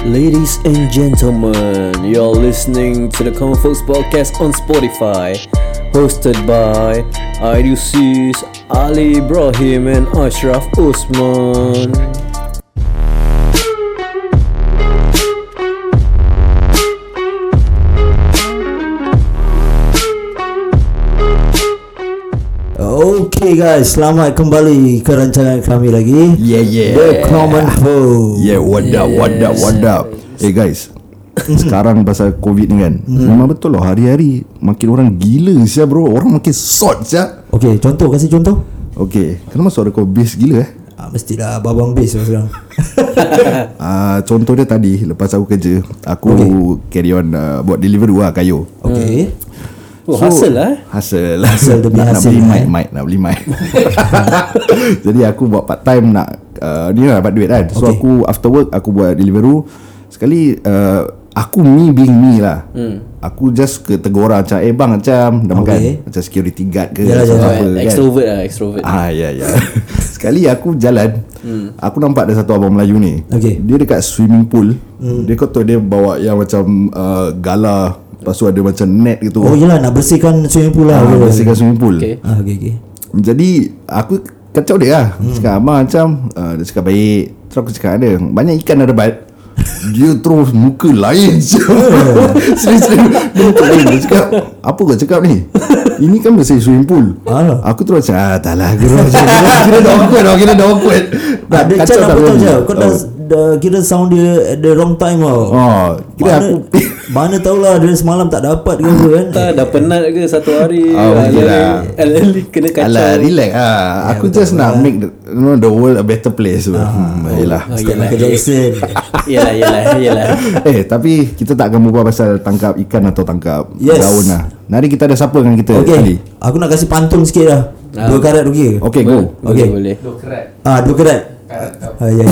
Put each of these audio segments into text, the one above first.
Ladies and gentlemen, you're listening to the Common Folks Podcast on Spotify, hosted by Idiosis, Ali Ibrahim and Ashraf Usman. Okay guys, selamat kembali ke rancangan kami lagi. The Common Folks. What up. Hey guys, sekarang pasal COVID ni kan, memang betul lah, hari-hari makin orang gila sia bro. Orang makin sort sia. Okay, kasih contoh. Okay, kenapa suara kau bass gila Mestilah babang bass sekarang. Contoh dia tadi, lepas aku kerja, aku carry on buat delivery kayu. Okay. Hasil lah. Hasil demi nak hasil. Nak beli mic. Jadi aku buat part time nak ni lah dapat duit kan. So aku after work aku buat delivery. Sekali aku being me lah. Aku just ke tegur orang macam bang macam dah makan, macam security guard ke apa kan. Extrovert. Ya. Sekali aku jalan, aku nampak ada satu abang Melayu ni. Dia dekat swimming pool. Dia kata dia bawa yang macam galah. Lepas tu ada macam net gitu. Oh yelah, nak bersihkan swimming pool lah. Bersihkan swimming pool. Okay. Jadi aku kacau dia lah. Cakap abang macam dia cakap baik. Terus aku cakap ada banyak ikan ada bat. Dia terus muka lain. Serius dia muka lain. Dia cakap apa kau cakap ni? Ini kan bersih swimming pool. Aku terus cakap tak lah. Kira dah awkward. Ada macam apa tahu je. Kau dah kira sound dia at the wrong time tau. Kira aku mana tahulah dia semalam tak dapat ke apa kan. Dah penat ke satu hari. Kena kacau. Alah, relax aku just nak make the world a better place. Yelah. Jackson. Yelah. Tapi kita tak akan berbual pasal tangkap ikan atau tangkap daun lah. Hari kita ada siapa dengan kita kali? Aku nak kasih pantun sikit lah. 2 karat okey. Okay, go. Okay. Boleh. 2 karat. 2 karat. Ya.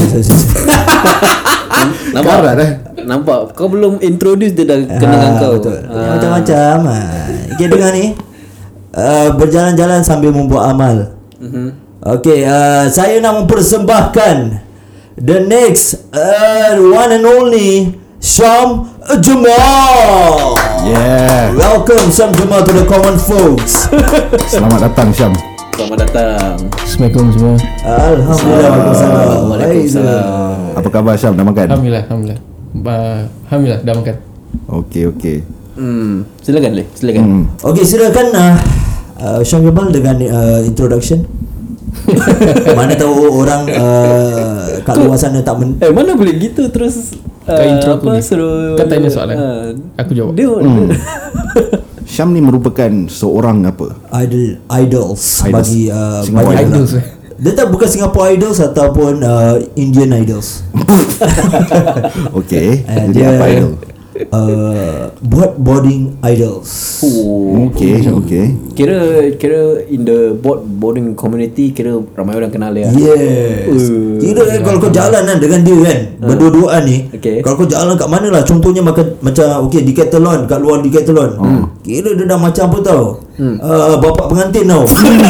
Nampak kau belum introduce dia dah kenal kau. Betul. Macam-macam. Okay, dengar ni. Berjalan-jalan sambil membuat amal. Okay, saya nak mempersembahkan the next one and only Syam Jamal. Yeah. Welcome Syam Jamal to the Common Folks. Selamat datang Syam. Selamat datang. Assalamualaikum semua. Alhamdulillah. Waalaikumsalam. Apa khabar Syam, dah makan? Alhamdulillah dah makan. Okay. Silakan. Okay, silakan Syam Jamal dengan introduction. Mana tahu orang kat luar sana tak mana boleh gitu terus intro aku ni. Suruh Kau tanya soalan, aku jawab. Syam ni merupakan seorang apa? Idols bagi Singapore Idols. Dia tak bukan Singapore Idols ataupun Indian Idols. Okay. Jadi dia apa idol? boarding idols. Okay. Kira in the boarding community, kira ramai orang kenal dia. Yes. Kira kalau kau jalan kan dengan dia kan, berdua-duaan ni. Kalau kau jalan kat mana lah, contohnya macam Decathlon, kat luar Decathlon. Kira dia dah macam apa tau? Bapak pengantin tau.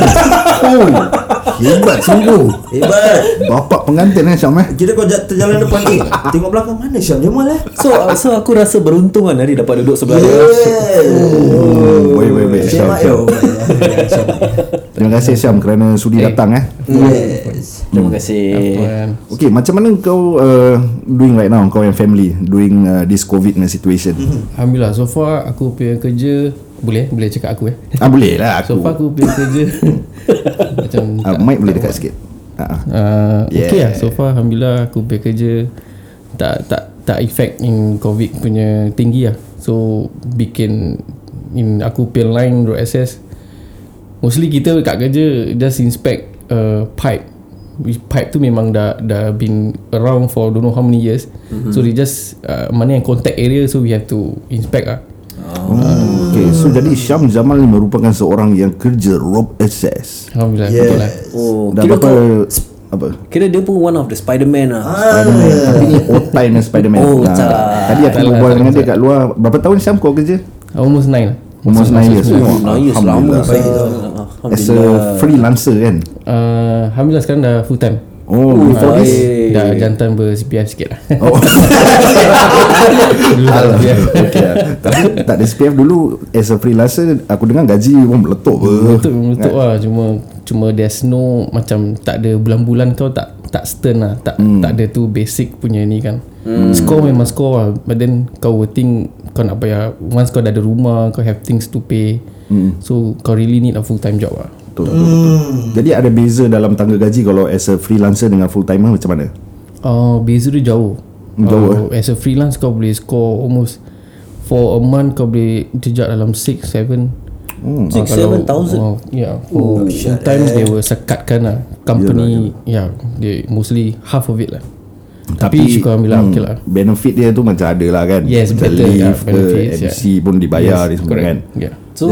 Hebat sungguh. Hebat. Bapak pengantin Syam Kira kau terjalan depan ni, tengok belakang, mana Syam Jamal So aku rasa beruntung kan hari dapat duduk sebelah dia. Baik Syam. Terima kasih Syam kerana sudi datang Yes. Terima kasih. Okay, macam mana kau doing right now, kau and family doing this COVID situation? Alhamdulillah, so far aku punya kerja boleh cakap aku Boleh lah aku. So far aku punya kerja macam mic boleh dekat sikit. Okay lah, so far alhamdulillah aku punya kerja tak effect in COVID punya tinggi lah. So bikin aku punya line road access, mostly kita kat kerja just inspect pipe. Pipe tu memang dah been around for don't know how many years. So they just mana yang contact area, so we have to inspect lah. Okay, so jadi Syam Jamal ni merupakan seorang yang kerja rope access. Alhamdulillah, betul lah. Dah Kira apa? Kira dia pun one of the Spiderman lah. Spiderman. Tapi ni otai dengan Spiderman. Tadi aku berbual dengan dia kat luar. Berapa tahun Syam kau kerja? Almost 9 lah. Almost 9 years. Alhamdulillah. As a freelancer kan? Alhamdulillah sekarang dah full time. Oh, before this. Dah jantan ber-CPF sikit lah. Oh. Dulu tak CPF. Okay lah. Tapi tak ada SPF dulu. As a freelancer, aku dengar gaji pun meletup Meletup lah. Cuma there's no, macam tak ada bulan-bulan kau tak stern lah. Tak ada tu basic punya ni kan. Score memang score lah. But then kau will think kau nak bayar. Once kau dah ada rumah, kau have things to pay. So kau really need a full time job lah. Betul. Jadi ada beza dalam tangga gaji kalau as a freelancer dengan full timer macam mana? Beza dia jauh. As a freelance kau boleh score almost for a month kau boleh jejak dalam 6-7 6-7,000. Yeah. For full time they will sekatkan lah. Company they mostly half of it lah. Tapi syukur Alhamdulillah okay lah. Benefit dia tu macam ada lah kan. Yes, better benefits, MC pun dibayar ni semua kan. So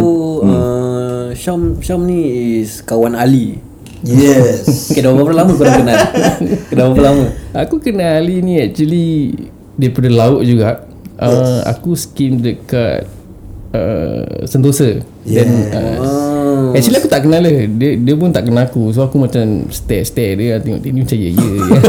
Syam ni is kawan Ali. Yes. Okay, dah berapa lama korang kenal? Dah berapa lama? Aku kenal Ali ni actually daripada laut juga. Aku skim dekat Sentosa. Then actually aku tak kenal dia pun tak kenal aku. So aku macam stare dia, tengok dia ni macam ya.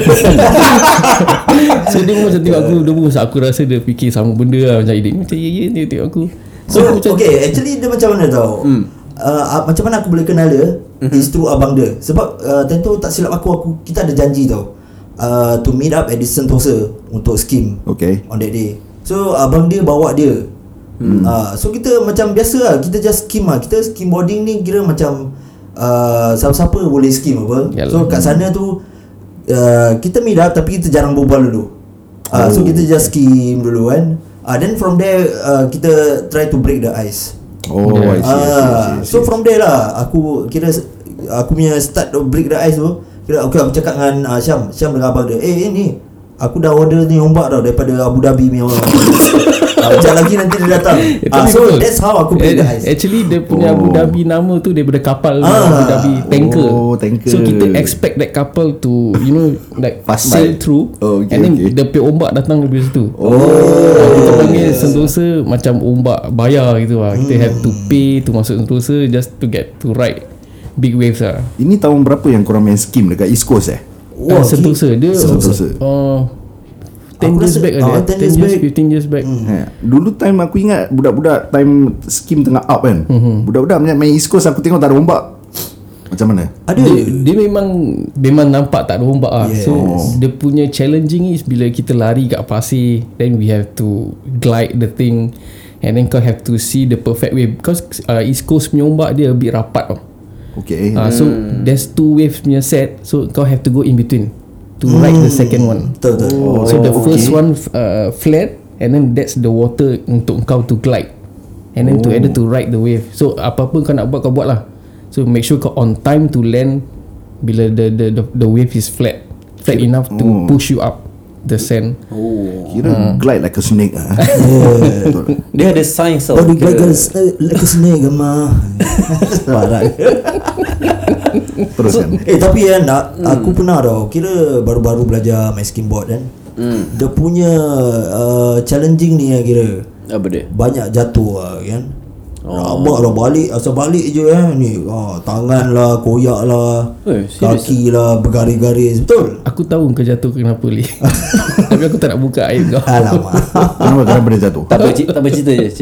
So dia pun macam tengok aku. Dia pun aku rasa dia fikir sama benda lah. Macam dia macam ya tengok aku. So okay, actually dia macam mana tau? Macam mana aku boleh kenal dia? Is through abang dia. Sebab tentu tak silap aku kita ada janji tau, to meet up at the Sentosa untuk skim on that day. So abang dia bawa dia. So kita macam biasa lah, kita just skim lah. Kita skim boarding ni kira macam siapa-siapa boleh skim apa. So kat sana tu kita meet up tapi kita jarang berbual dulu. So kita just skim dulu kan. Then from there kita try to break the ice. I see. So from there lah aku kira aku punya start to break the ice tu. Kira okay, aku cakap dengan Syam dengan abang dia, ni aku dah order ni ombak tau daripada Abu Dhabi punya orang. Macam lagi nanti dia datang. So betul. That's how aku break the ice. Actually dia punya Abu Dhabi nama tu daripada kapal Abu Dhabi tanker. Tanker. So kita expect that couple to like sail through and then the ombak datang dari situ. Kita panggil Sentosa macam ombak bayar gitu lah. Kita have to pay to masuk Sentosa just to get to ride big waves lah. Ini tahun berapa yang korang main skim dekat East Coast Sentosa. Dia 10 years back ada. 15 years back. Dulu time aku ingat budak-budak time skim tengah up kan. Budak-budak main East Coast aku tengok tak ada ombak. Macam mana? Dia memang nampak tak ada ombak lah. So dia punya challenging is bila kita lari kat pasir, then we have to glide the thing and then kau have to see the perfect wave because East Coast punya ombak dia a bit rapat tau. So there's 2 waves punya set. So kau have to go in between to ride the second one. So the first one flat and then that's the water untuk kau to glide and then to ride the wave. So apa-apa kau nak buat kau buat lah. So make sure kau on time to land bila the wave is flat enough to push you up the sand. Kira glide like a snake ah. Dia ada science tau. Glide like a snake mah. Parah. Teruskan. Tapi aku pernah tau, kira baru-baru belajar main skimboard kan. Dia punya challenging ni kira apa dia? Banyak jatuh lah kan. Rabak lah asal balik je ni. Tangan lah, koyak lah, kaki lah, bergaris-garis. Betul? Aku tahu kau jatuh kenapa Li. Tapi aku tak nak buka aib kau. Alamak. Kenapa dia jatuh? Tak apa, cerita je.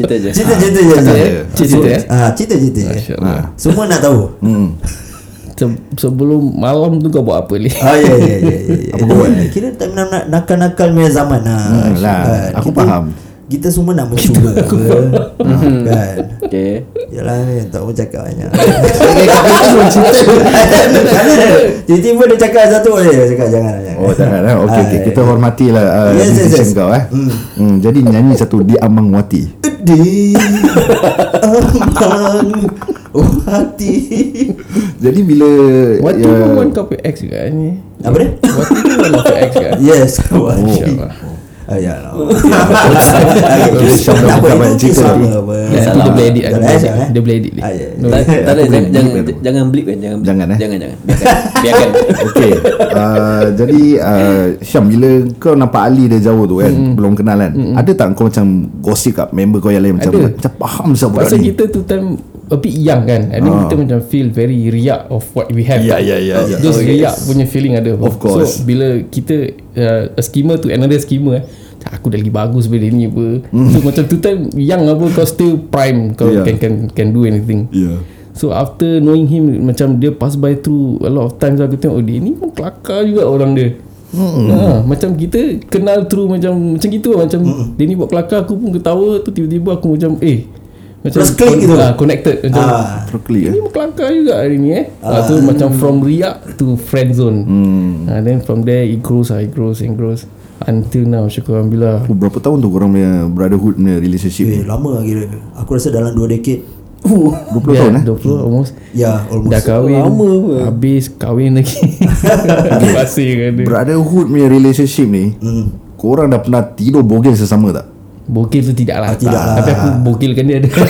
Cerita je. Semua nak tahu. Sebelum malam tu kau buat apa Li? Ya. Apa kau buat? Kira time nakal-nakal punya zaman lah. Aku faham. Kita semua nak mencuba kan. Okay. Yalah ni tak mau cakap banyak. Tiba-tiba dia cakap satu dia cakap jangan. Jangan. Okey. Kita hormatilah decision kau Jadi nyanyi satu Di Amang Wati. Di Amang Wati. Jadi bila Wati pun one kau X juga ni. Apa dia? Wati tu one of X kan? Yes. InsyaAllah. Ya lah. Dia boleh edit. Dia boleh edit. Tak ada, jangan blip kan. Jangan. Biarkan. Okay. Jadi Syam, bila kau nampak Ali dia jauh tu kan, belum kenal kan, ada tak kau macam gosip kat member kau yang lain macam faham siapa pasal kita tu time a bit young kan, and then kita macam feel very riak of what we have. Those riak punya feeling ada. Of course. So bila kita a schemer to another schemer, aku dah lagi bagus daripada dia ni apa. So macam tu time young apa, kau still prime, kau can do anything. So after knowing him, macam dia pass by through a lot of times, aku tengok dia ni pun kelakar juga orang dia. Macam kita kenal through macam gitu lah. Macam dia ni buat kelakar, aku pun ketawa tu, tiba-tiba aku macam macam connected macam ni pun kelakar juga hari ni tu macam from riak to friend zone. Then from there it grows until now, syukur Alhamdulillah. Berapa tahun tu korang punya brotherhood punya relationship? Lama kira. Aku rasa dalam 2 dekade. 20 tahun 20 almost. Almost. Dah kahwin, lama pun. habis kahwin lagi. Masih kan dia. Brotherhood punya relationship ni, korang dah pernah tidur bogel sesama tak? Bogil tu tidak lah. Tapi aku bogilkan dia ada.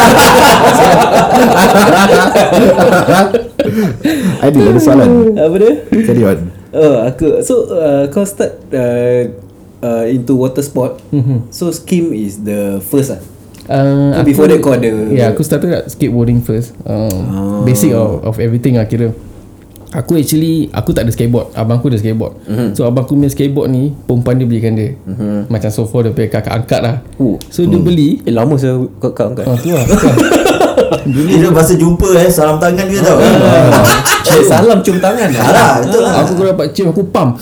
Aidil ada soalan. Apa dia? Carry on. Aku kau start into water sport. So skim is the first lah. Before that kau ada. Aku started kat skateboarding first. Basic of everything lah kira. Aku tak ada skateboard. Abang aku ada skateboard. So abang aku punya skateboard ni perempuan dia belikan dia. Macam so far dia punya kakak angkat lah. So dia beli. Lama saya kakak angkat. Tu lah. Dia masa jumpa salam tangan dia tau. Salam cium tangan lah. Betul lah. Aku kalau dapat cium aku pump.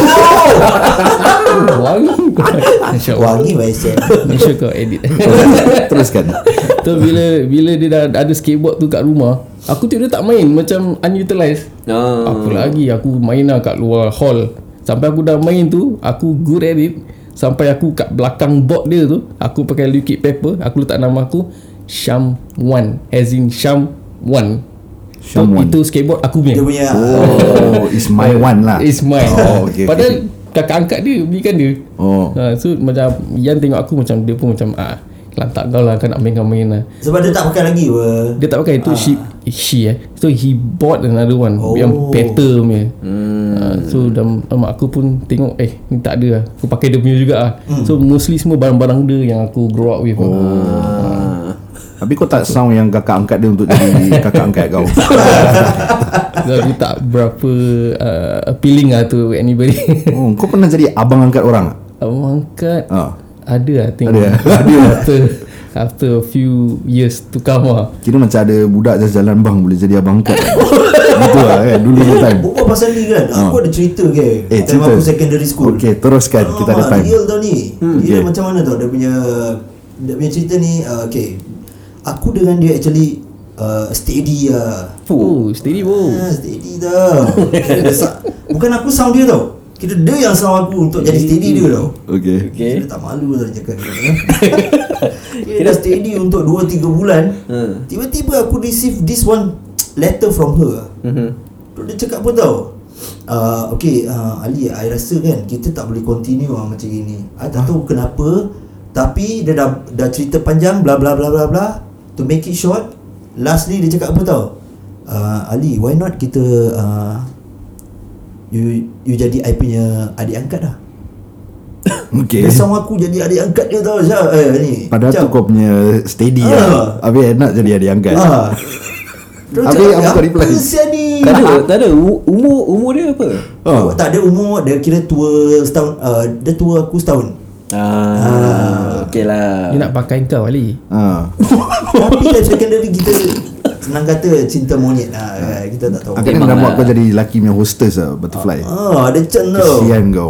Wangi. Wangi biasa. Make sure kau edit. Teruskan. So bila dia dah ada skateboard tu kat rumah, aku tengok dia tak main, macam unutilized. Aku main lah kat luar hall. Sampai aku dah main tu, aku good at it. Sampai aku kat belakang board dia tu, aku pakai liquid paper, aku letak nama aku Syam Wan, as in Syam Wan. So, itu skateboard aku punya. Dia punya it's my one lah. It's mine. Okay, Padahal kakak angkat dia belikan dia. So macam Yan tengok aku macam, dia pun macam lantak kau lah, kan nak main lah. Sebab dia tak pakai lagi dia tak pakai itu. So he bought another one yang better punya. So mak aku pun tengok ni tak ada lah, aku pakai dia punya juga lah. So mostly semua barang-barang dia yang aku grow up with. Tapi kau tak sound yang kakak angkat dia untuk jadi kakak angkat kau. Aku tak berapa appealing lah to anybody. Kau pernah jadi abang angkat orang tak? Abang angkat ada lah tengok. After a few years to come lah. Kira macam ada budak jalan bang boleh jadi abang angkat. Betul lah kan dulu time. Bukan pasal ni kan, aku ada cerita ke time aku secondary school. Okay, teruskan, kita ada time. Real tau ni. Dia macam mana tau, dia punya cerita ni. Aku dengan dia actually steady lah. Steady bro. Steady tau. Bukan aku sound dia tau, kira dia yang sound aku untuk jadi steady dia tau. Okay. Dia tak malu lah cakap dia. Dia dah steady untuk 2-3 bulan. Tiba-tiba aku receive this one letter from her. Dia cakap apa tau, Ali, I rasa kan kita tak boleh continue macam gini. I tak tahu kenapa, tapi dia dah cerita panjang bla bla bla bla bla. To make it short, lastly dia cakap apa tau, Ali, why not kita you jadi I punya adik angkat dah. Okay. Dia sama aku jadi adik angkat dia tau ni. Padahal tu kau punya steady lah. Habis nak jadi adik angkat. Habis apa kau reply? Tak ada umur dia apa? Tak ada umur. Dia kira tua setahun. Dia tua aku setahun. Okay lah. Dia nak pakai kau Ali. Tapi dari secondary kita senang kata cinta monyet lah. Kita tak tahu. Akhirnya dah buat kau jadi lelaki punya hostess lah, butterfly. Ada can tau. Kesian kau.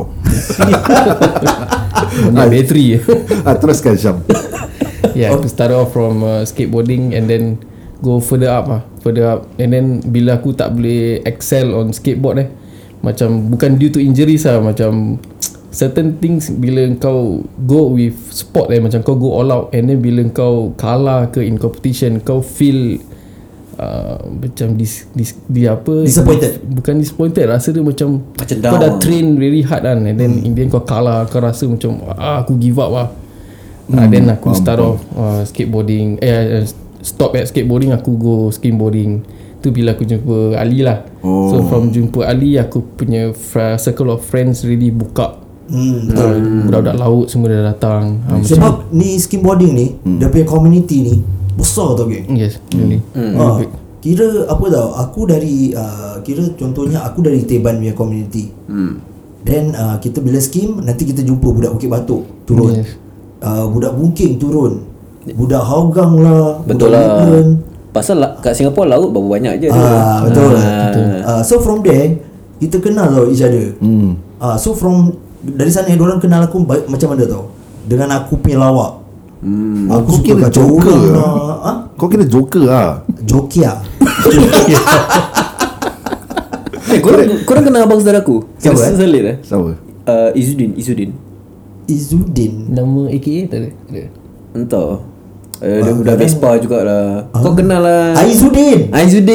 Bateri. Teruskan Syam. Aku start off from skateboarding and then go further up, and then bila aku tak boleh excel on skateboard macam bukan due to injuries lah, macam certain things bila kau go with sport macam kau go all out, and then bila kau kalah ke in competition, kau feel macam disappointed. Bukan disappointed, rasa dia macam kau dah train really hard kan, and then in the end kau kalah, kau rasa macam aku give up lah. Then aku start off skateboarding, stop at skateboarding, aku go skimboarding. Tu bila aku jumpa Ali lah. So from jumpa Ali, aku punya circle of friends really buka. Budak-budak laut semua dah datang. Sebab ni skimboarding ni, dia punya community ni besar tau geng. Yes, really. Kira apa tau, aku dari kira contohnya aku dari Teban punya community. Then kita bila skim, nanti kita jumpa budak Bukit Batok turun. Yes. Budak Bungking turun. Budak Hougang lah. Betul budak lah. Woodland. Pasal kat Singapura laut berapa banyak je. Betul. So from there kita kenal tau each other. So from dari sana diorang kenal aku macam mana tau, dengan aku punya lawak. Aku kira suka kacau joker orang lah. lah. Kau kira joker lah. Jokia. Korang kenal abang saudara aku? Siapa, Salid eh? Siapa? Izudin. Izudin. Nama AKA tak ada? Entah. Dia budak Vespa jugalah. Kau kenal lah. Aizudin.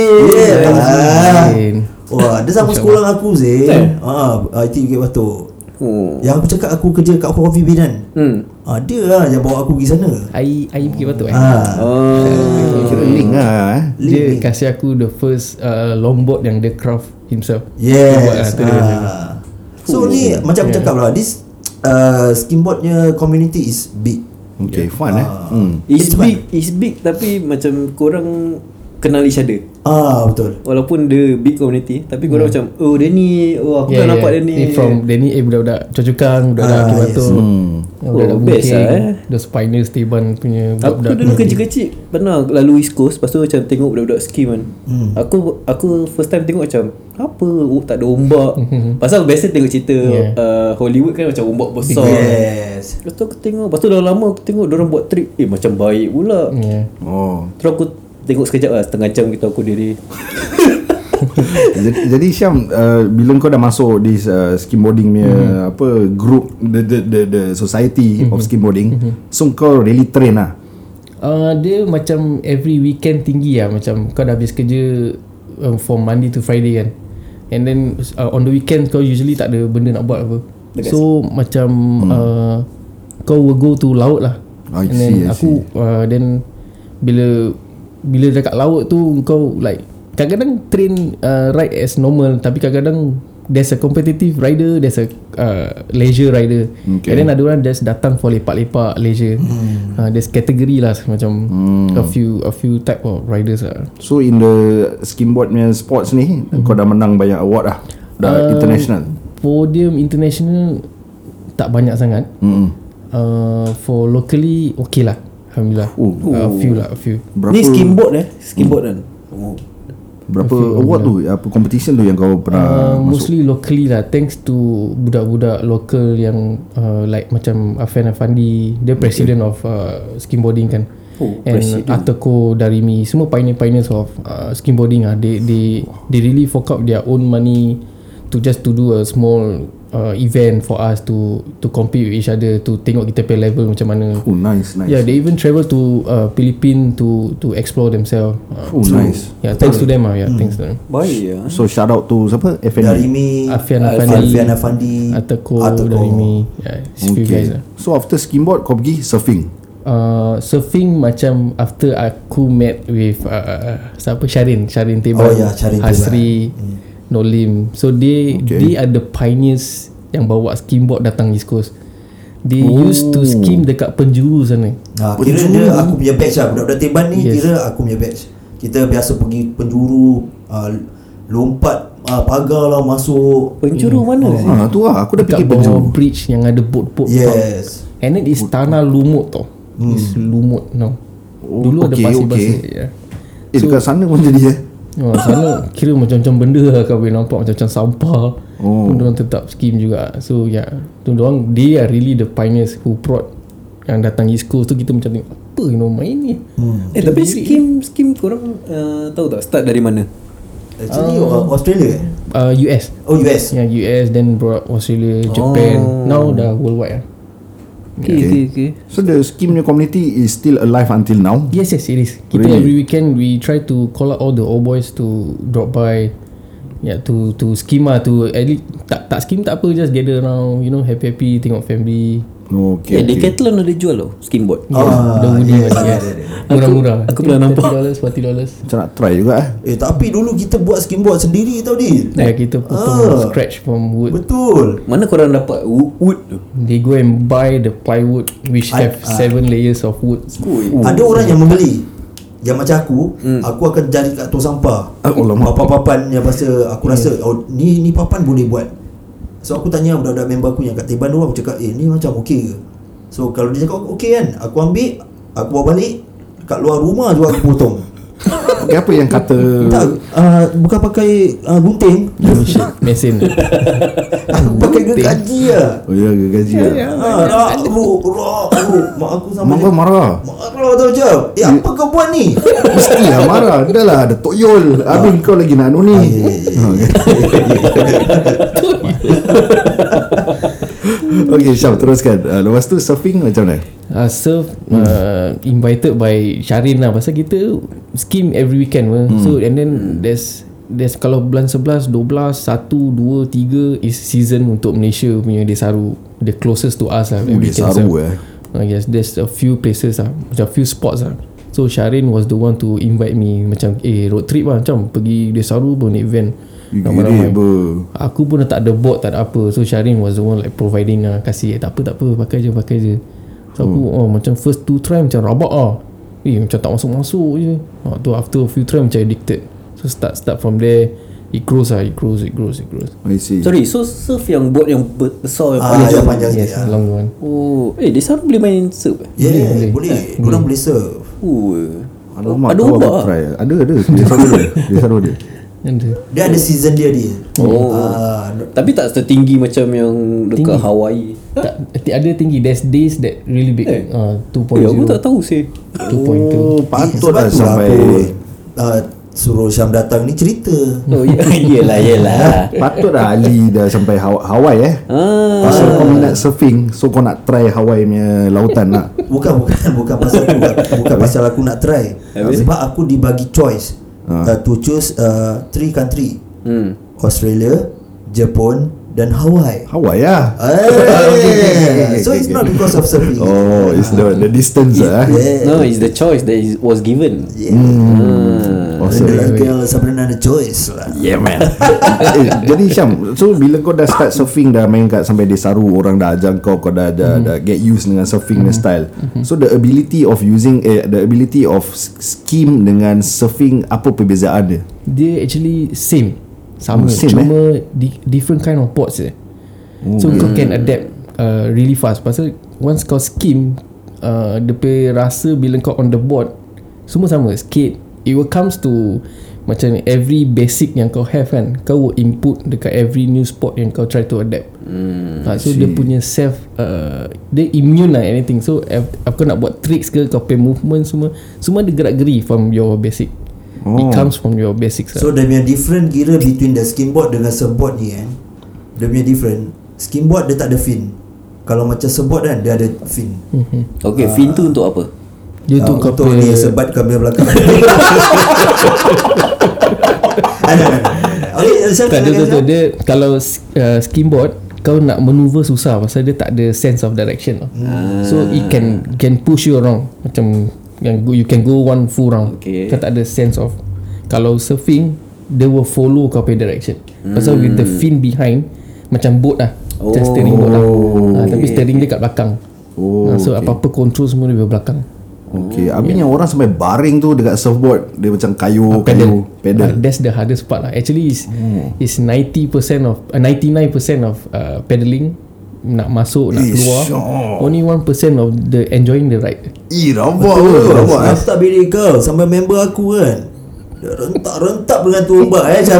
Wah, dia sama sekolah dengan aku Zain. IT Bukit Batok. Yang aku cakap aku kerja kat Coffee Bean kan. Dia lah yang bawa aku pergi sana. Air Bukit Batok Kira link lah Dia kasih aku the first longboard yang dia craft himself. Yes. Dia buat, So ni macam aku cakap lah, this skimboardnya community is big. Okay, fun It's big tapi macam korang kenal each other. Betul. Walaupun dia big community, tapi korang macam aku dah nampak dia ni. From dia ni budak-budak Choa-Chu-Kang, budak-budak Bukit Batok. Budak-budak best Bukit, lah the Pioneers Teban punya Aku budak-budak. dulu kecil-kecil pernah lalu East Coast, lepas tu macam tengok budak-budak skim kan. Aku first time tengok macam apa, tak ada ombak. Pasal biasa tengok cerita Hollywood kan macam ombak besar. Yes. Lepas tu aku tengok, lepas tu dah lama aku tengok diorang buat trip, macam baik pula. Terus aku tengok sekejap lah, setengah jam kita aku diri. Jadi Syam, bila kau dah masuk di skimboarding punya apa group, the society of skimboarding, so kau really train lah. Dia macam every weekend tinggi lah. Macam kau dah habis kerja from Monday to Friday kan, and then on the weekend kau usually tak ada benda nak buat apa. So macam kau will go to laut lah. And then aku then bila dekat laut tu kau like kadang-kadang train ride as normal, tapi kadang-kadang there's a competitive rider, there's a leisure rider, and then ada orang just datang for lepak-lepak leisure. There's category lah, macam a few type of riders lah. So in the skimboard punya sports ni, kau dah menang banyak award lah, dah international. Podium international tak banyak sangat. For locally okay lah, alhamdulillah. A few. Ni skimboard kan. Berapa award tu, apa competition tu yang kau pernah masuk? Mostly locally lah, thanks to budak-budak local yang like macam Afian Afandi, dia president of skimboarding kan. And Ateko Darimi, semua pioneers of skimboarding lah. They really fork out their own money to do a small event for us to compete with each other, to tengok kita pay level macam mana. Nice. Yeah, they even travel to Philippines to explore themselves. Nice. Yeah, thanks to them lah. Yeah, thanks to them. Baik ya. So shout out to siapa? Darimi, Afian Afandi, Ateko Darimi. Yeah, few guys lah. So after skimboard kau pergi surfing? Surfing macam after aku met with siapa, Sharin Teban, Sharin Hasri, Nolim. So they are the pioneers yang bawa skimboard datang East Coast. They used to skim dekat penjuru sana. Kira dia aku punya batch lah. Budak-budak Teban ni kira aku punya batch. Kita biasa pergi penjuru, lompat pagar lah masuk. Penjuru mana? Tu lah, aku dah dekat pergi penjuru. bawah bridge yang ada boat. Yes. And then it's tanah lumut tau. It's lumut now. Dulu ada pasir-pasir. Dekat sana pun jadi sana kira macam-macam benda lah, kau boleh nampak macam-macam sampah. Diorang tetap skim juga. So diorang, they are really the pioneers who brought yang datang East Coast tu. Kita macam tengok apa main ni. Tapi skim korang tahu tak start dari mana? Actually Australia US. US. Yeah, US, then brought Australia, Japan. Now dah worldwide lah. Okay. So the skim community is still alive until now? Yes, it is. Kita every weekend we try to call out all the old boys to drop by, to skim lah, to at least tak skim tak apa, just gather around, happy tengok family. Decathlon ada jual tau skimboard. The Woody murah-murah. Aku pernah nampak $40. Macam nak try juga tapi dulu kita buat skimboard sendiri tau Dil. Kita potong scratch from wood. Betul. Mana korang dapat wood tu? They go and buy the plywood which have 7 layers of wood. Ada orang yang membeli. yang macam aku akan cari kat tong sampah. Papan-papan yang aku rasa ni papan boleh buat. So aku tanya budak-budak member aku yang kat Teban tu, aku cakap ni macam okey ke? So kalau dia cakap okey kan, aku ambil, aku bawa balik kat luar rumah juga aku potong. Apa yang kata Tak, bukan pakai gunting. Mesin. Aku pakai gergaji lah. Oh ya, gergaji lah. Mak aku sampai Mak kau marah. marah tau macam, apa kau buat ni? Mestilah marah. Dah lah, ada toyol. Habis kau lagi nak anu ni. Okay, Syam, teruskan. Lepas tu surfing macam mana? Surf invited by Syarin lah, pasal kita scheme every weekend so and then there's kalau bulan 11, 12, 1, 2, 3 is season untuk Malaysia punya Desaru, the closest to us lah. Desaru yes, there's a few places lah, macam few spots lah. So Syarin was the one to invite me, macam road trip lah, macam pergi Desaru pun event ramai-ramai. Aku pun tak ada board, tak ada apa. So Syarin was the one like providing lah, kasih tak apa pakai je. So aku macam first 2 try macam rabak lah, macam tak masuk je. Tu after a few try macam addicted. So start from there, it grows. I see. Sorry, so surf yang boat yang besar yang panjang sikit. Yes, long one. Dia sana boleh main surf? Boleh. Korang boleh surf. Alamak, ada kau ombak try. Ada. Desaru dia. Dia ada season dia. Tapi tak setinggi macam yang dekat Hawaii. Tak, ada tinggi. There's days that really big. 2.0. Aku tak tahu sih. 2.2. Patutlah Sebab tu sampai aku suruh Syam datang ni cerita. Yelah. Patutlah Ali dah sampai Hawaii pasal kau minat surfing, so kau nak try Hawaii punya lautan nak. Bukan pasal tu. Bukan pasal aku nak try. Sebab aku dibagi choice to choose 3 country. Australia, Jepun dan Hawaii. Hawaii lah. So it's not because of surfing. Oh, it's the distance No, it's the choice that was given. Girl Sabrina ada choice lah. Yeah man. Jadi Syam, so bila kau dah start surfing, dah main kat sampai Desaru, orang dah ajar kau dah get used dengan surfing style. So the ability of using the ability of scheme dengan surfing, apa perbezaan dia? Dia actually sama same, cuma different kind of ports je. So kau can adapt really fast. Pasal once kau skim, dia punya rasa bila kau on the board semua sama, skate. It will comes to macam every basic yang kau have kan, kau will input dekat every new sport yang kau try to adapt. So dia punya self dia immune lah anything. So aku nak buat tricks ke, kau pay movement, semua dia gerak-geri from your basic. It comes from your basics. So dia punya different kira between the skimboard dengan surfboard ni kan, dia punya different. Skimboard dia tak ada fin. Kalau macam surfboard kan, dia ada fin. Okay, fin tu untuk apa? Dia tu kau untuk ni sebat kamera belakang. Dia kalau skimboard kau nak maneuver susah pasal dia tak ada sense of direction. So it can push you around, macam yang you can go one full round. Kau tak ada sense of. Kalau surfing, they will follow kau punya direction. Pasal with the fin behind, macam boat lah, macam steering boat lah. Tapi steering dia kat belakang. So apa-apa control semua dia di belakang. Habis yang orang sampai baring tu dekat surfboard, dia macam kayu pedal. That's the hardest part lah. Actually is 90% of 99% of pedaling, nak masuk, nak keluar. Only 1% of the enjoying the ride. Rabak. Aku tak beli kau sampai member aku kan, dia rentak-rentak dengan tu ombak macam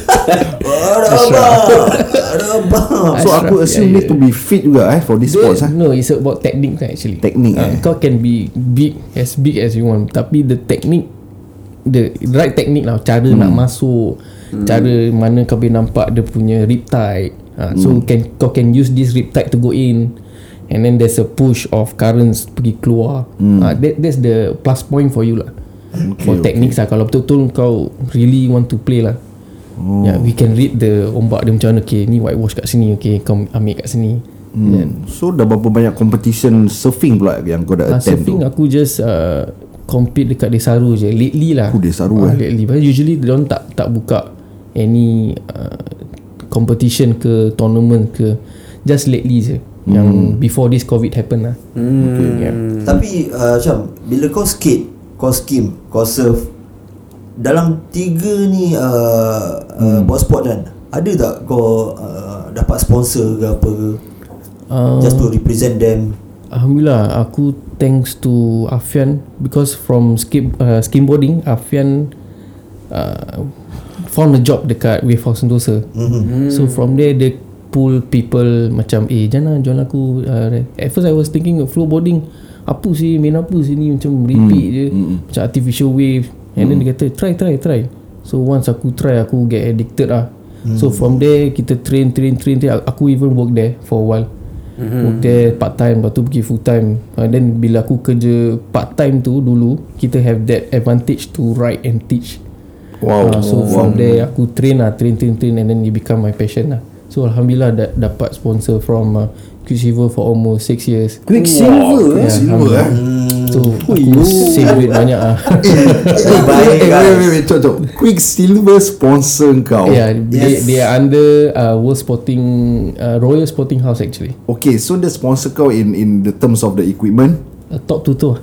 Rabak. So aku assume need to be fit juga for this sports. No, it's about technique actually. Kau can be big as you want, tapi the technique, the right technique lah, cara nak masuk, cara mana kau boleh nampak dia punya riptide. So kau can use this riptide to go in, and then there's a push of currents pergi keluar. That's the plus point for you lah. For techniques lah. Kalau betul-betul kau really want to play lah, we can read the ombak dia macam mana. Ni whitewash kat sini, kau ambil kat sini. So dah berapa banyak competition surfing pula yang kau dah attend surfing tu? Aku just compete dekat Desaru je lately lah. Desaru lately. Usually diorang tak buka any competition ke tournament ke, just lately je. Yang before this COVID happen lah. Tapi Syam, bila kau skate, kau skim, kau surf, dalam 3 ni buat sport kan, ada tak kau dapat sponsor ke apa ke? Just to represent them? Alhamdulillah, aku thanks to Afian, because from skimboarding, Afian found a job dekat Wave House Sentosa. So from there they pull people macam jangan join aku. At first I was thinking of flowboarding, apa sih, main apa sini, macam repeat je, macam artificial wave. And then dia kata try. So once aku try, aku get addicted lah. So from there kita train. Aku even work there for a while. Work there part time, lepas tu pergi full time. Then bila aku kerja part time tu dulu, kita have that advantage to write and teach. So from there aku train and then it become my passion lah. So alhamdulillah dapat sponsor from Quicksilver for almost 6 years. Quicksilver So aku save duit banyak lah. Wait, Quicksilver sponsor kau? Yeah, they are under World Sporting Royal Sporting House actually. Okay, so the sponsor kau in the terms of the equipment? Top 2 tu lah.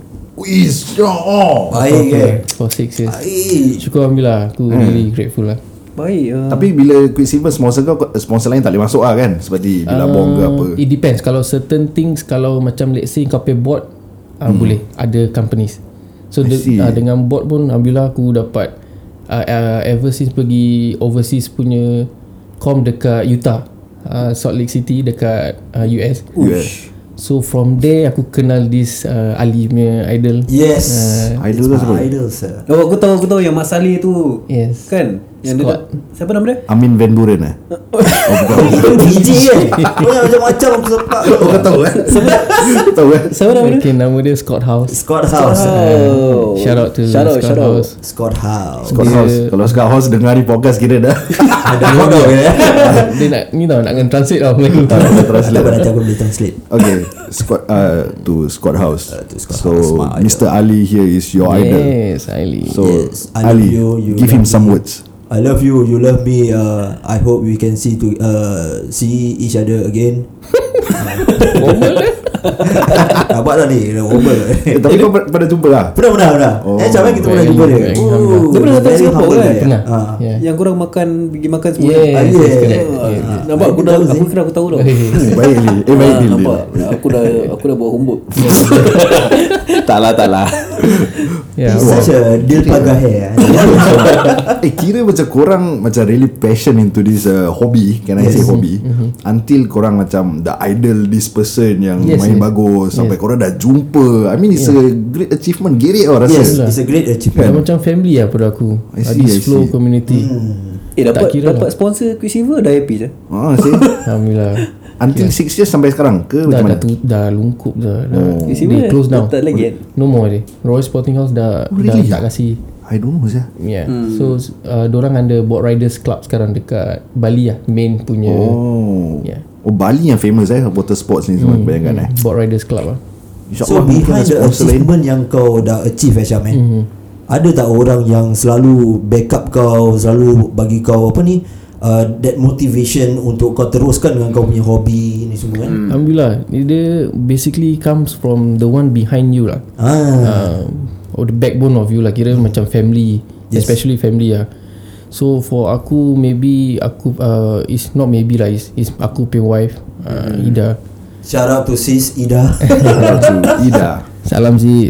Baik for 6 years. Syukur alhamdulillah, aku really grateful lah. Baik. Tapi bila Quicksilver sponsor kau, sponsor lain tak boleh masuk lah kan? Seperti Billabong ke apa? It depends. Kalau certain things, kalau macam let's say kau pay board, boleh ada companies. So dengan board pun alhamdulillah aku dapat ever since pergi overseas punya com dekat Utah, Salt Lake City dekat US. So from there aku kenal this Ali punya idol. Yes. Idol tu siapa? Idol sir. Oh, aku tahu yang Mas Ali tu. Yes. Kan? Yang Scott. Siapa nama dia? Amin Van Buren DJ kan. Macam-macam aku sepak. Oh, kau tahu kan? Tahu kan? Siapa nama dia? Okay, nama dia Scott House. Scott House. Shout out to Shout out. House. Scott House. Scott House. Kalau Scott House dengar ni podcast kira dah. Ada bodoh ya. Dia nak ni tau, nak kena translate tau Melayu. Nanti aku boleh translate. Okay, Scott House. Scott House, my idol. Mr. Ali here is your idol. Yes, Ali. So Yes, I love Ali, you give him love some me. words. I love you, you love me. I hope we can see each other again. Nampak tak ni? Wobble. Tapi kau pernah jumpa lah? Pernah. Macam mana kita pernah jumpa dia? Dia pernah datang Singapore kan? Pernah. Yeah. Yang korang pergi makan semua. Yes, yes, Nampak aku kira aku tahu dah. Baik Li. Nampak. Aku dah buat homework. Tak lah. Yeah. He's such a deal pagar hair. Kira macam korang macam really passion into this hobby. Can I say hobby? Until korang macam the idol this person yang main bagus sampai korang dah jumpa. I mean it's a great achievement. Get it rasa. Yes, it's a great achievement. Macam family lah pada aku. I see. This flow community. Dapat sponsor Quicksilver dah happy je. Alhamdulillah. Until 6 years sampai sekarang ke macam mana? Dah lungkup dah. Quicksilver They close down. tak lagi kan? No more dia. Royal Sporting House dah Really? tak kasih. I don't know sah. Yeah. So dorang under Board Riders Club sekarang dekat Bali lah, main punya. Yeah. Bali yang famous water sports ni semua kebanyakan Board Riders Club lah. So behind the achievement yang kau dah achieve Syam ada tak orang yang selalu backup kau, selalu bagi kau apa ni, that motivation untuk kau teruskan dengan kau punya hobi ni semua kan? Alhamdulillah, dia basically comes from the one behind you lah. Or the backbone of you lah, kira macam family, especially family lah. So for aku, maybe aku is not maybe lah, is aku punya wife, Ida. Shout out to sis Ida. Ida. Salam sis.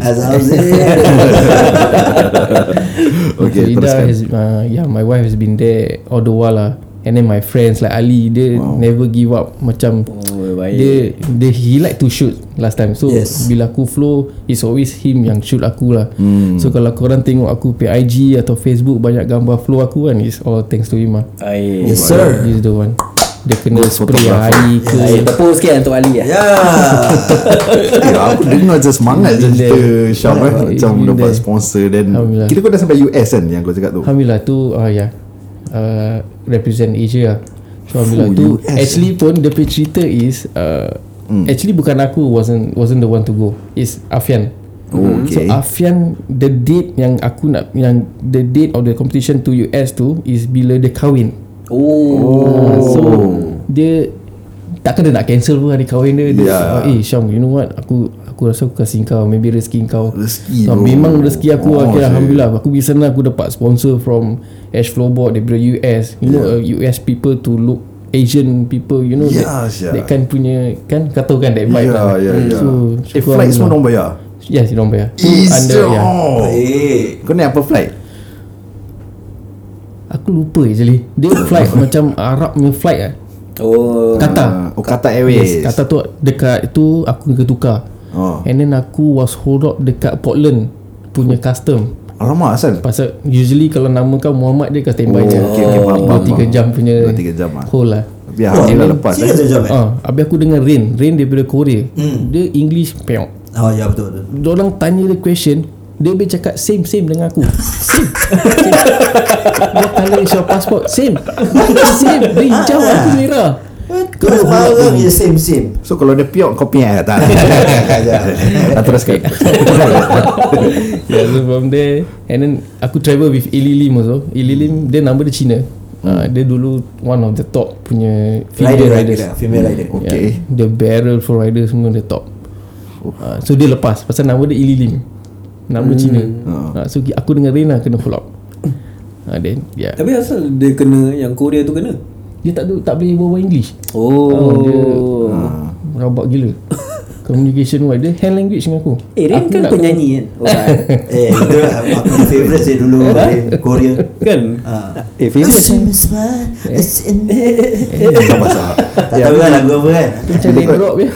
Okay, so Ida teruskan. has my wife has been there all the while lah. And then my friends like Ali, dia never give up. Macam dia he like to shoot last time. So bila aku flow, it's always him yang shoot aku lah. So kalau korang tengok aku punya IG atau Facebook banyak gambar flow aku kan, it's all thanks to him lah. Yes sir. He's the one. Dia kena spray hari ke. Tepuk sikit untuk Ali lah. Aku dengar macam semangat je cerita Syam macam dapat sponsor. Dan kira kau dah sampai US kan yang kau cakap tu? Alhamdulillah tu represent Asia lah. So alhamdulillah tu US. actually pun dia punya cerita is actually bukan aku wasn't the one to go, it's Afian. So Afian, the date yang aku nak, yang the date of the competition to US tu is bila dia kahwin. So dia takkan dia nak cancel pun hari kahwin dia. Syam, you know what, aku aku rasa aku kasih kau, maybe rezeki kau. Rezeki, So, bro. memang rezeki aku. Okay, shit. Alhamdulillah. Aku bisa senang aku dapat sponsor from Ash Flowboard daripada US. You know, US people to look Asian people, you know, that kind punya kan, kata kan that vibe lah. So flight semua orang bayar. Yes, diorang bayar. Baik. Kau naik apa flight? Aku lupa actually. Dia flight macam Arab punya flight lah. Qatar. Qatar Airways. Qatar tu dekat itu aku kena tukar. And then aku was hold up dekat Portland punya custom. Alamak, asal? Pasal usually kalau nama kau Muhammad, dia akan standby je. faham. 2-3 jam punya 2-3 jam lah. hold lah. Biar Alhamdulillah lepas. Serius jam Habis aku dengar Rain daripada Korea. Dia English peok. Oh ya betul. Diorang tanya dia question, dia boleh cakap same dengan aku. Same. Dia color is your passport. Same. Dia hijau, aku merah. Kau barang je same. So kalau dia piok, kau piak tak? Teruskan. Yeah, so from there, and then aku travel with Ili Lim also. Ili Lim, dia nama dia Cina. Dia dulu one of the top punya female riders. Female rider. Okay. Dia barrel for rider semua dia top. So dia lepas pasal nama dia Ili Lim, nama Cina. So aku dengan Rina kena follow up. Then yeah. Tapi asal dia kena yang Korea tu kena? Dia tak boleh berbual English. Dia rabak gila. Communication wise, dia hand language dengan aku. Rin kan penyanyi kan? Itu aku favourite saya dulu Korea. Kan? Favourite. Tak tahu kan lagu apa kan? Macam dia rock je.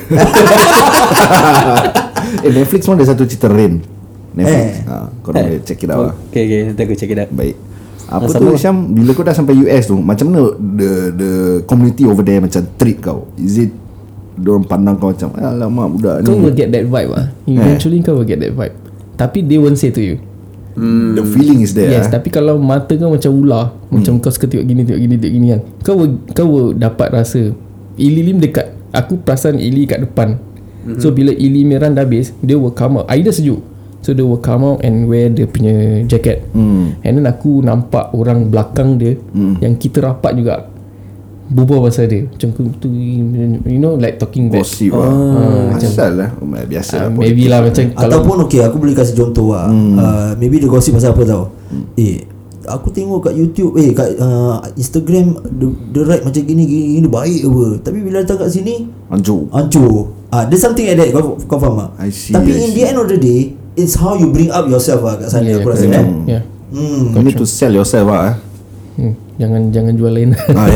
Netflix pun ada satu cerita Rain. Netflix. Kau boleh check it out lah. Okay, nanti aku check it out. Baik. Apa tu Syam, bila kau dah sampai US tu, macam mana the community over there macam treat kau? Is it diorang pandang kau macam alamak budak ni? Kau will get that vibe lah. Eventually kau will get that vibe. Tapi they won't say to you. The feeling is there. Yes, tapi kalau mata kau macam ular, macam kau suka tengok gini kan, kau will dapat rasa Ili Lim dekat. Aku perasan Ili kat depan. So bila Ili Miran dah habis, dia will come out. Either sejuk, so they will come out and wear dia punya jacket. And then aku nampak orang belakang dia yang kita rapat juga berbual pasal dia. Macam tu, you know, like talking back. Gossip asal lah. Biasa lah. Maybe lah macam Ataupun okay, aku boleh kasih contoh lah. Maybe dia gosip pasal apa tau. Aku tengok kat YouTube, kat Instagram dia write macam gini baik apa. Tapi bila datang kat sini hancur. There's something like that. Kau faham tak? I see. Tapi in the end of the day, it's how you bring up yourself lah kat sana. Aku rasa kan. You need to sell yourself lah. Jangan jual lain.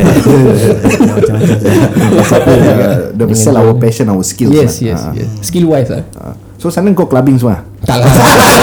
Dia sell our passion, our skills. Yes. Skill wise lah. So sana kau clubbing semua? Tak lah.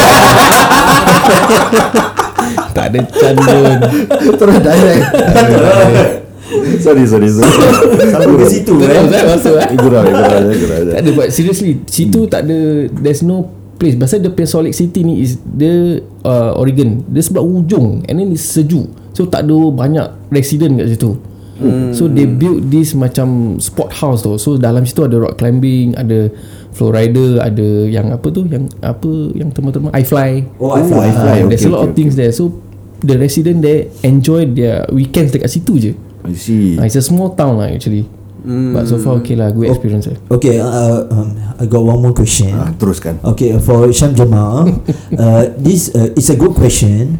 Tak ada candun. Terus direct. Sorry. Sampai ke situ kan. Masuk Gurau. Tak ada, but seriously situ tak ada, there's no place. Pasal dia punya Salt Lake City ni is dia Oregon. Dia sebelah ujung and then it's sejuk. So tak ada banyak resident kat situ. So they build this macam sport house tu. So dalam situ ada rock climbing, ada flow rider, ada yang apa tu, yang teman-teman iFly. iFly. There's a lot of things there. So the resident there enjoy their weekends dekat situ je. I see. It's a small town lah actually. But so far okay lah, good experience lah. Okay, I got one more question. Teruskan. Okay, for Syam Jamal, this is a good question.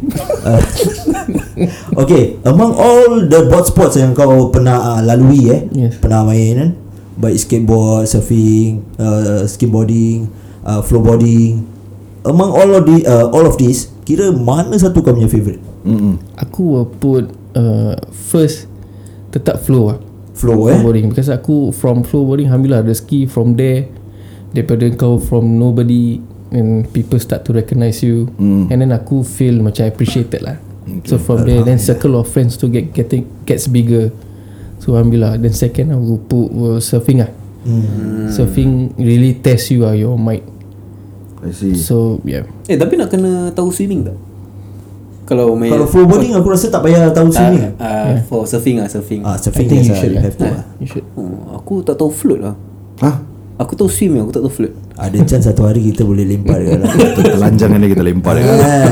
Okay, among all the board sports yang kau pernah lalui pernah main kan, baik skateboard, surfing, skateboarding, flowboarding, among all of these, kira mana satu kau punya favourite? Aku will put first tetap flow lah. Flowboarding, because aku from flowboarding alhamdulillah rezeki from there, daripada kau from nobody and people start to recognise you, and then aku feel macam appreciated lah. So from there then circle of friends to gets bigger. So alhamdulillah. Then second aku put surfing lah. Surfing really test you your mind. I see. So yeah. Tapi nak kena tahu swimming tak? Kalau flowboarding aku rasa tak payah tahu swimming. For surfing surfing I think you should have to. You should. Aku tak tahu float lah. Hah? Aku tahu swim, aku tak tahu float. Ada chance satu hari kita boleh lempar dekat dalam. Telanjang ni kita lempar dekat dalam.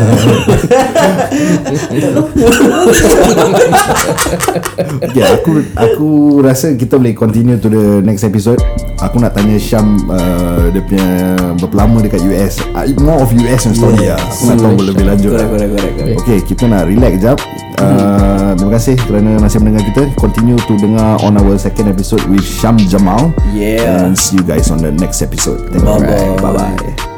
Okay, aku rasa kita boleh continue to the next episode. Aku nak tanya Syam dia punya berapa lama dekat US. More of US and story lah. Aku nak tahu lebih lanjut. Correct. Okay, kita nak relax jap. Terima kasih kerana masih mendengar kita. Continue to dengar on our second episode with Syam Jamal. Yeah. And see you guys on the next episode. Thank you. Bye-bye. Bye-bye.